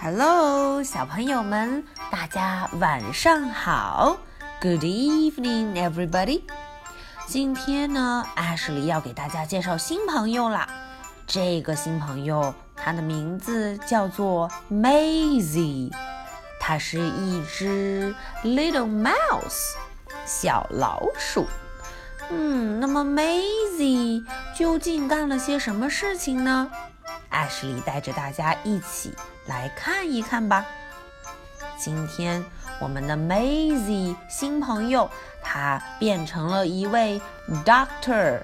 Hello， 小朋友们，大家晚上好。Good evening, everybody. 今天呢，Ashley 要给大家介绍新朋友啦。这个新朋友，他的名字叫做 Maisie， 它是一只 little mouse， 小老鼠。那么 Maisie 究竟干了些什么事情呢？Ashley 带着大家一起来看一看吧。今天我们的 Maisie 新朋友，她变成了一位 doctor，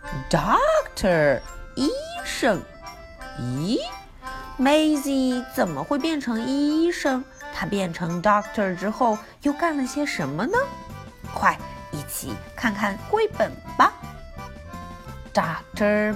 医生。咦 ，Maisie 怎么会变成医生？她变成 doctor 之后又干了些什么呢？快一起看看绘本吧。Dr.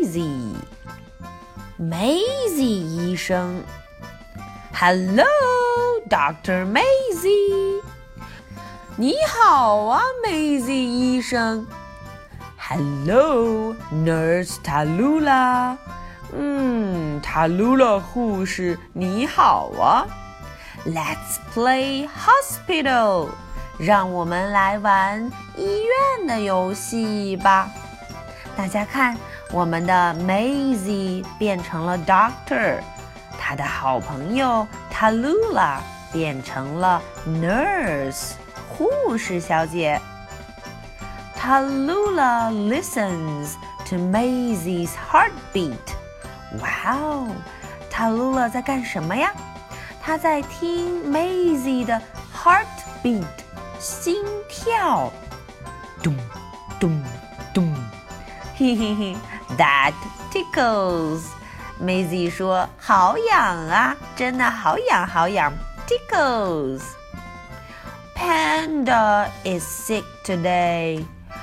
Maisie。Maisie 医生 Hello, Dr. Maisie 你好啊 Maisie 医生 Hello, Nurse Tallulah Tallulah 护士你好啊 Let's play hospital 让我们来玩医院的游戏吧。大家看，我们的 Maisie 变成了 Doctor， 她的好朋友 Tallulah 变成了 Nurse， 护士小姐。Tallulah listens to Maisie's heartbeat。哇哦 ，Tallulah 在干什么呀？她在听 Maisie 的 heartbeat， 心跳。咚咚咚。嘿嘿嘿 That tickles Maisie 说好痒啊，真的好痒好痒 Tickles Panda is sick today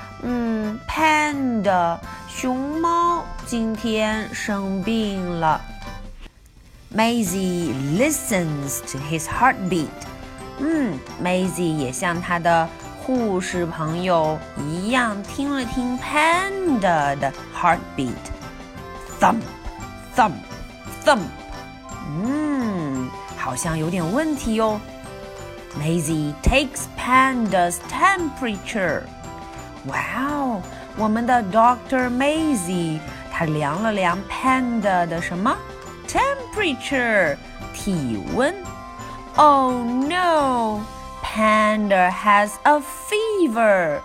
Panda 熊猫今天生病了 Maisie listens to his heartbeat Maisie 也像她的护士朋友一样听了听 Panda 的 heartbeat Thump, thump, thump 好像有点问题哦 Maisie takes Panda's temperature 哇哦，我们的 Dr. Maisie 她量了量 Panda 的什么 temperature 体温 Oh no Panda has a fever.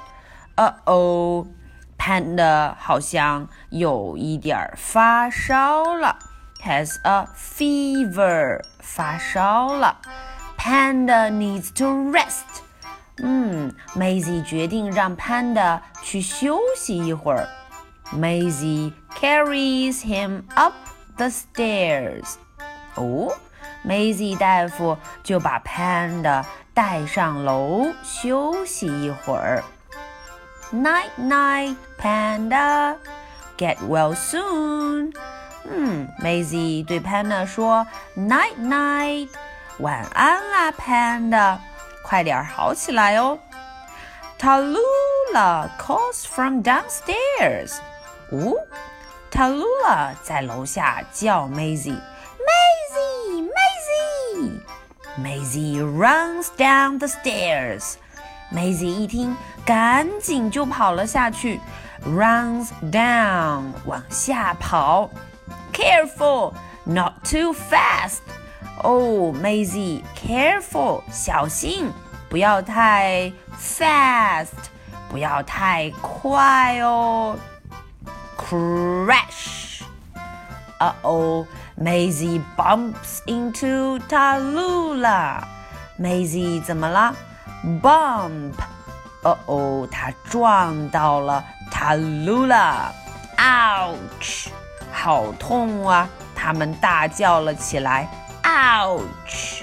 Panda 好像有一点发烧了。Has a fever. 发烧了。Panda needs to rest. Maisie 决定让 Panda 去休息一会儿。Maisie carries him up the stairs. Maisie 大夫就把 Panda 带上楼休息一会儿。Night night, Panda. Get well soon. Maisie 对 Panda 说 Night night. 晚安啦 Panda. 快点好起来哦。Tallulah calls from downstairs. Tallulah 在楼下叫 Maisie.Maisie runs down the stairs. Maisie 一听，赶紧就跑了下去。Runs down 往下跑。Careful, not too fast. Maisie, careful 小心，不要太 fast， 不要太快哦。Crash. Maisie bumps into Tallulah. Maisie 怎么了 ？Bump. 她撞到了 Tallulah. Ouch. 好痛啊！他们大叫了起来。Ouch.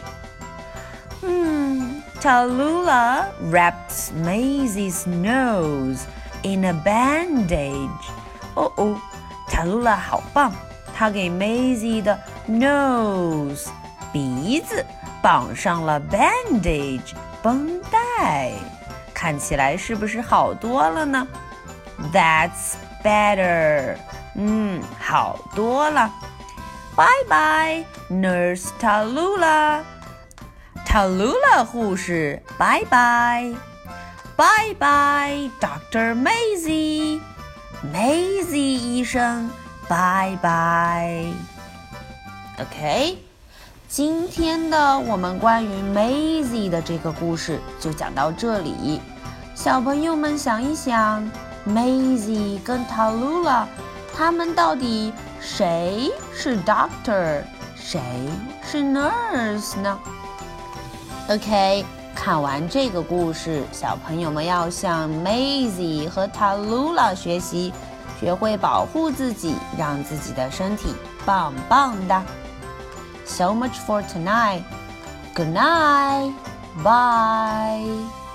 Tallulah wraps Maisie's nose in a bandage. Tallulah 好棒。他给 Maisie 的 nose 鼻子绑上了 bandage 绷带，看起来是不是好多了呢 ？That's better，好多了。 Bye bye, Nurse Tallulah. Tallulah 护士 Bye bye. Bye bye, Dr. Maisie. Maisie 医生 Bye bye. OK, 今天的我们关于 Maisie 的这个故事就讲到这里。小朋友们想一想 ，Maisie 跟 Tallulah 他们到底谁是 Doctor， 谁是 Nurse 呢 ？OK， 看完这个故事，小朋友们要向 Maisie 和 Tallulah 学习，学会保护自己，让自己的身体棒棒的。So much for tonight. Good night. Bye.